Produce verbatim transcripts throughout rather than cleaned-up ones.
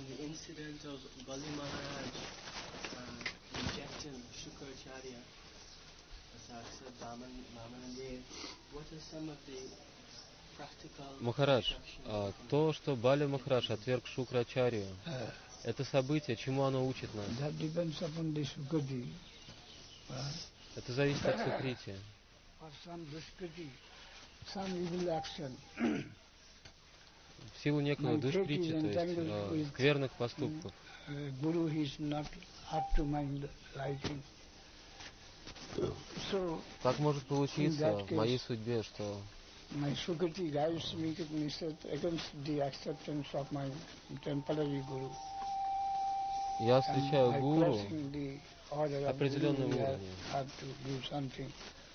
the incident of Bali Maharaj uh, rejecting Shukracharya, Asatsa, Vaman, Vamanadeva, what are some of the practical Махарадж, instructions? а, то, что Бали Махарадж отверг Шукрачарью, Uh, это событие, чему оно учит нас? that depends upon the Sukati. Uh, Это зависит от Сукрити. for some Dushkriti, some evil action. В силу некого душприти, то есть э, скверных поступков. Uh, Guru is not up to my liking. So, Так может получиться в моей судьбе, что my Sukati drives me against the acceptance of my temporary Guru. я встречаю And by гуру crossing the order of определенного Guru, we уровня. have to do something.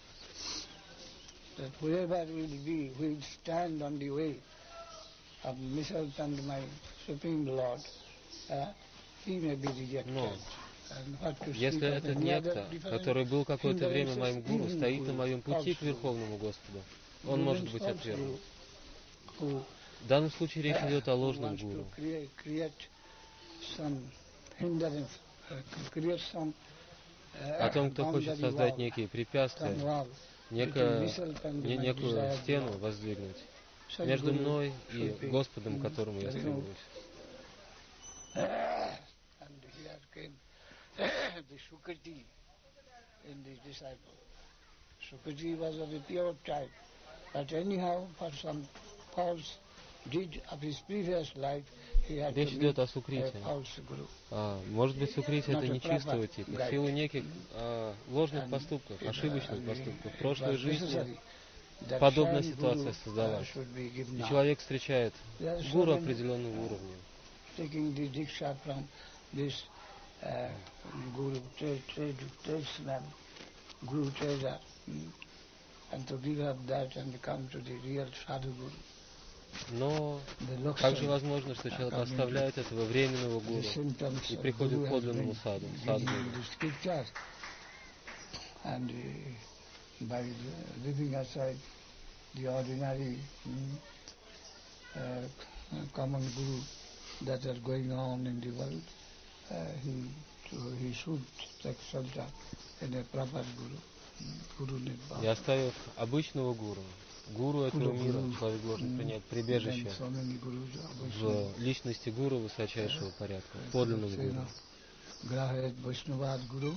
That whoever will be, will stand on the way of myself and my Supreme Lord, uh, he may be rejected. Но And what to speak если of этот any other некто, different который был какое-то время hindrances, моим гуру, even стоит на Guru, моем пути к false Верховному Господу, Guru, он может even быть false отвергнут. Guru, who, В данном случае речь идет о who ложном wants to гуру, create, create some hindrance, uh, create some uh, о том, кто хочет boundary создать wall, некие some препятствия, wall некое, between myself and не- my некую desired стену Lord. воздвигнуть Such между Guru мной и should be, Господом, к mm, которому я there is no- стремлюсь. And here came the Sukati in the disciple. Sukati was of a pure type, but anyhow, for some false deed of his previous life, he had Речь to идет meet о a Сукрите. false Guru. А, может быть, Сукрити это Not a не чистого proper типа, в guide. силу неких а, ложных And поступков, it, uh, ошибочных and поступков. В it прошлой was жизни necessary that подобная same ситуация Guru, uh, создалась. should be given И now. человек встречает There are so гуру many, определенного uh, уровня. taking the diksha from this uh, Guru, trade, trade, tradesman, Guru trader, mm, and to give up that and come to the real Sadhu Guru. Но The looks также and возможно, что человек coming to оставляет этого временного the гуру symptoms и of приходит Guru к has подлинному been саду, given садгуру. in the scriptures. And uh, by the, leaving aside the ordinary mm, uh, common Guru that are going on in the world, uh, he he should take shelter in a proper Guru, Guru И Nibbana. оставив обычного гуру, гуру этого мира, человек должен принять прибежище Then so many Gurus are в Vaishnava. личности гуру высочайшего порядка, в подлинном Say, гуру. no, Grahet Vaishnavad Guru,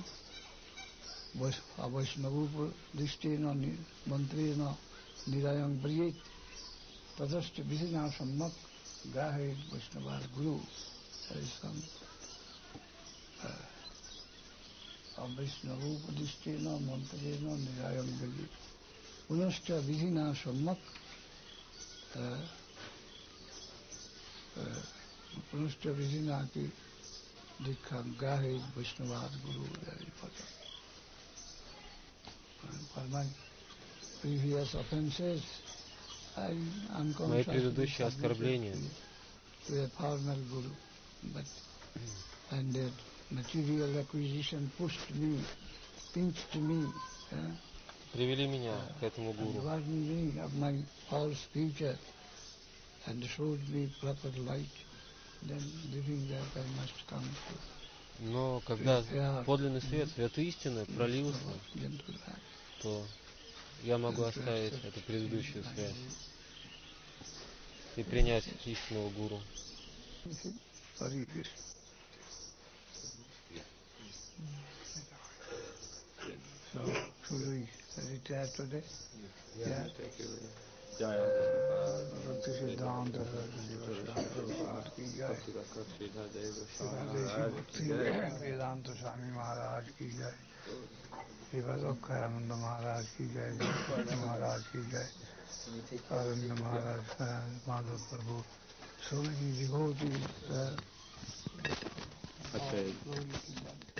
Vaishnavu Dishtena Mantrena Nirayam Briyet, Tadashta Vihina Sammak, Grahet Vaishnavad Guru. There is some Vaishnavu Dishtena Mantrena Nirayam Briyet. Punashta Vihina Sammak, Punashta Vihina ki Dikha Grahet Vaishnavad Guru, very important. For my previous offenses, I am Мои consciously предыдущие оскорбления, to a formal Guru, but and that material acquisition pushed me, pinched me, uh, привели меня к этому and гуру. warned me of my false future, and showed me proper light. Then, living that, I must come to Но когда подлинный свет, свет истины пролился, gentleman. то я могу оставить эту предыдущую связь и принять истинного гуру. Sorry. So, should we retire today? Yeah. Bhakti Siddhanta Prabhupada ki jai. Bhakti Vedanta Swami Maharaj ki jai. Srivadokhayananda Maharaj ki jai. Bhakti Maharaj ki jai. Aranda Maharaj, Madhav Prabhu. So many devotees. Uh,